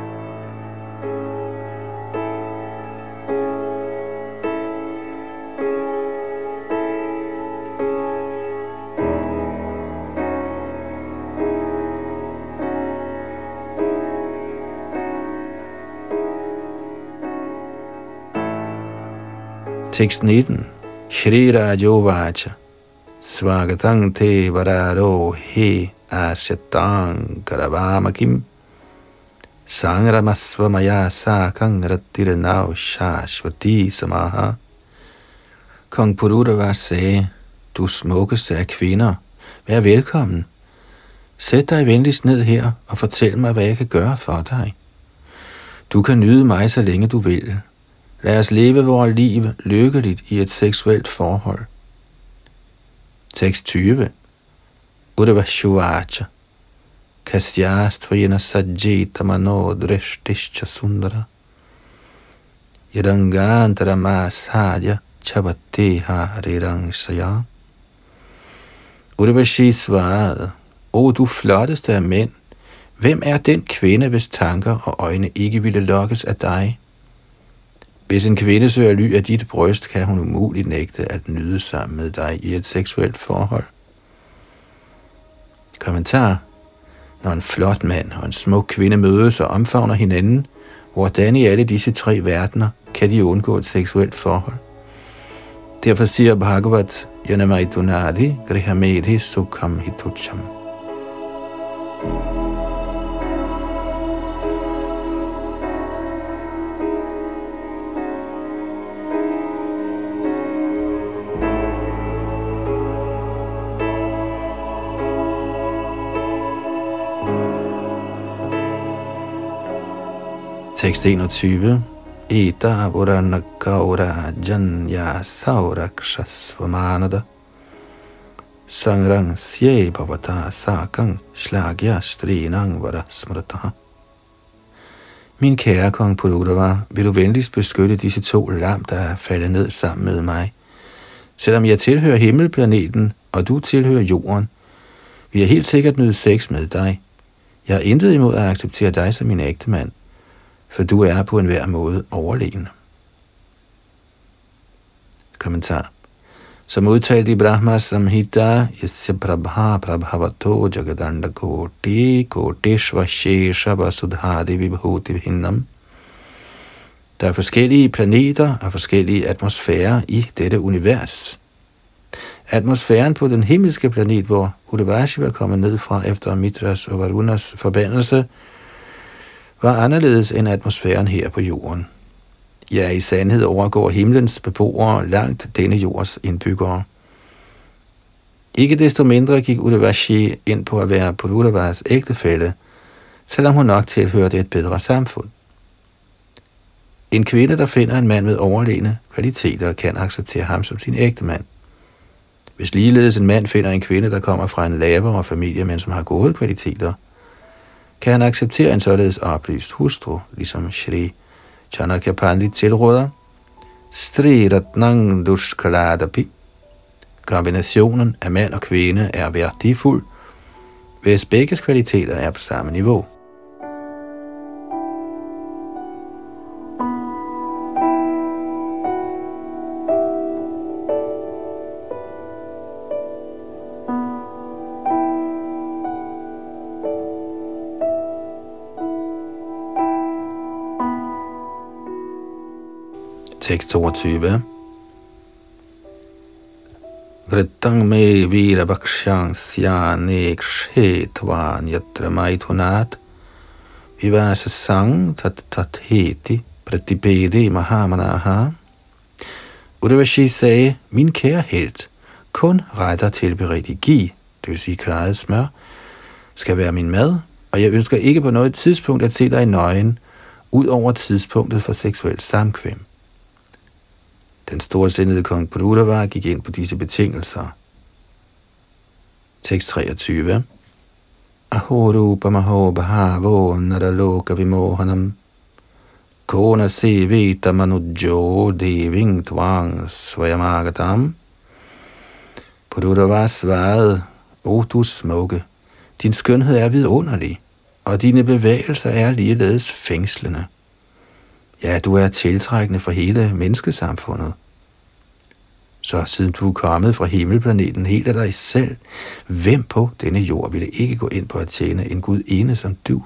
Tekst nitten. Shri Rajovacha Svagatang te vararo he ashatang karavamakim sangramasvamaya sakang rattiranav shashvati samaha. Kong Pururava sagde, du smukkeste af kvinder, vær velkommen. Sæt dig venligst ned her og fortæl mig, hvad jeg kan gøre for dig. Du kan nyde mig, så længe du vil. Lad os leve vores liv lykkeligt i et seksuelt forhold. Tekst tyve. Udavashuvacha Kasyastvayana sajjita mano drishtischa sundara Yadangantara masadya chabate hariranshaya. Udavashi svarede, O du flotteste af mænd, hvem er den kvinde, hvis tanker og øjne ikke ville lokkes af dig? Hvis en kvinde søger ly af dit bryst, kan hun umuligt nægte at nyde sammen med dig i et seksuelt forhold. Kommentar. Når en flot mand og en smuk kvinde mødes og omfavner hinanden, hvordan i alle disse tre verdener kan de undgå et seksuelt forhold? Derfor siger Bhagavat, Yanamaidunadi grihamedhi sukham hitucham. Tekst enogtyve. Eta urana gaura janya saurakshasvamanada sangrang sye bhavata sakang shlagya strinang vara smrataha. Min kære kong Pururava, vil du venligst beskytte disse to lam, der er faldet ned sammen med mig? Selvom jeg tilhører himmelplaneten, og du tilhører jorden, vil jeg helt sikkert nyde sex med dig. Jeg har intet imod at acceptere dig som min ægtemand, for du er på enhver måde overlegen. Kommentar. Som udtalt i Brahma Samhita, Yasya Prabha Prabhavato Jagadanda Koti Koteshva Shesha Vasudhadi Vibhuti Vinnam. Der er forskellige planeter og forskellige atmosfærer i dette univers. Atmosfæren på den himmelske planet, hvor Udavashi var kommet ned fra efter Mitras og Varunas forbandelse, var anderledes end atmosfæren her på jorden. Ja, i sandhed overgår himlens beboere langt denne jords indbyggere. Ikke desto mindre gik Udavashi ind på at være Pururavas ægtefælle, selvom hun nok tilhørte et bedre samfund. En kvinde, der finder en mand med overlegne kvaliteter, kan acceptere ham som sin ægtemand. Hvis ligeledes en mand finder en kvinde, der kommer fra en lavere familie, men som har gode kvaliteter, kan han acceptere en således oplyst hustru, ligesom Shri Chanakya Pandit tilråder. Stri ratnang dushkaladapi. Kombinationen af mand og kvinde er værdifuld, hvis begges kvaliteter er på samme niveau. Tekst toogtyve. Vrittang me virabakshang syanek shetvan yatra maithunat vivasa sang tat tat heti pratipede mahamanaha. Udavashi sagde, min kære helt, kun retter til beredt gi, det vil sige klaret smør, skal være min mad, og jeg ønsker ikke på noget tidspunkt at se dig nøgen, ud over tidspunktet for seksuelt samkvem. Den storsindede kong Pururava gik ind på disse betingelser. Tekst treogtyve. Ahorupa maho bahavo naraloka vimohanam Kona sevita manujo deving tvang svayamagatam. Puruttava svarede, o du smukke, din skønhed er vidunderlig, og dine bevægelser er ligeledes fængslende. Ja, du er tiltrækkende for hele menneskesamfundet. Så siden du er kommet fra himmelplaneten helt af dig selv, hvem på denne jord ville ikke gå ind på at tjene en Gud ene som du?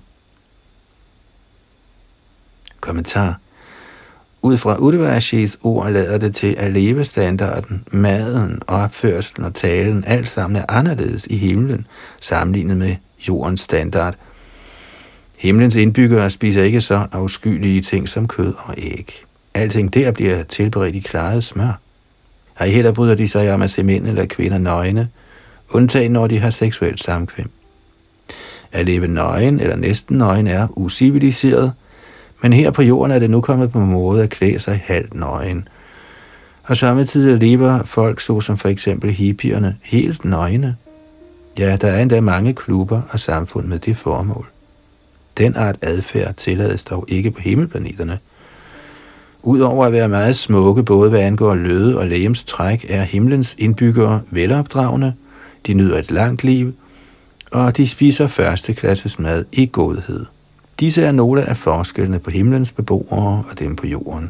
Kommentar. Ud fra Uddhavashis ord lader det til, at levestandarden, maden, opførslen og talen alt sammen er anderledes i himlen, sammenlignet med jordens standard. Himlens indbyggere spiser ikke så afskyelige ting som kød og æg. Alting der bliver tilberedt i klaret smør. Ej heller bryder de sig om at se mænd eller kvinder nøgne, undtagen når de har seksuelt samkvem. At leve nøgen eller næsten nøgen er uciviliseret, men her på jorden er det nu kommet på måde at klæde sig halvt nøgen. Og samtidig lever folk, såsom for eksempel hippierne, helt nøgne. Ja, der er endda mange klubber og samfund med det formål. Den art adfærd tillades dog ikke på himmelplaneterne. Udover at være meget smukke, både hvad angår løde og legemstræk, er himlens indbyggere velopdragende, de nyder et langt liv, og de spiser førsteklasses mad i godhed. Disse er nogle af forskellene på himlens beboere og dem på jorden.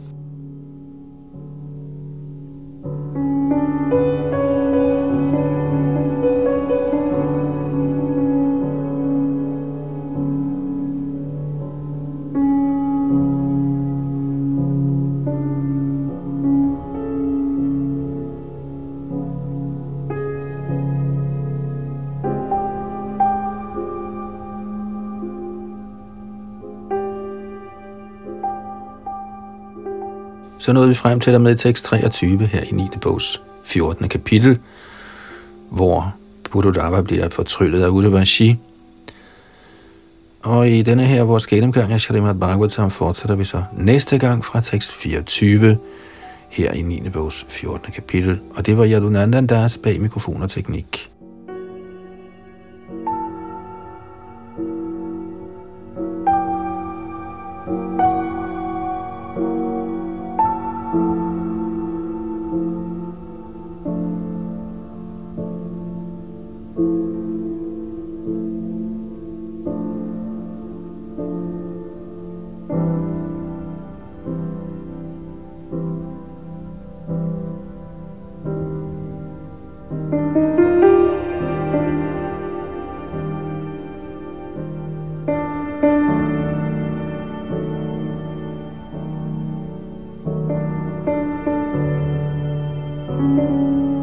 Så nåede vi frem til og med tekst treogtyve her i niende bogs fjortende kapitel, hvor Buddhadava bliver fortryllet af Uddhavashi. Og i denne her vores gennemgang af Srimad Bhagavatam fortsætter vi så næste gang fra tekst fireogtyve her i niende bogs fjortende kapitel. Og det var Yadunandan Das bag mikrofon og teknik. Thank you.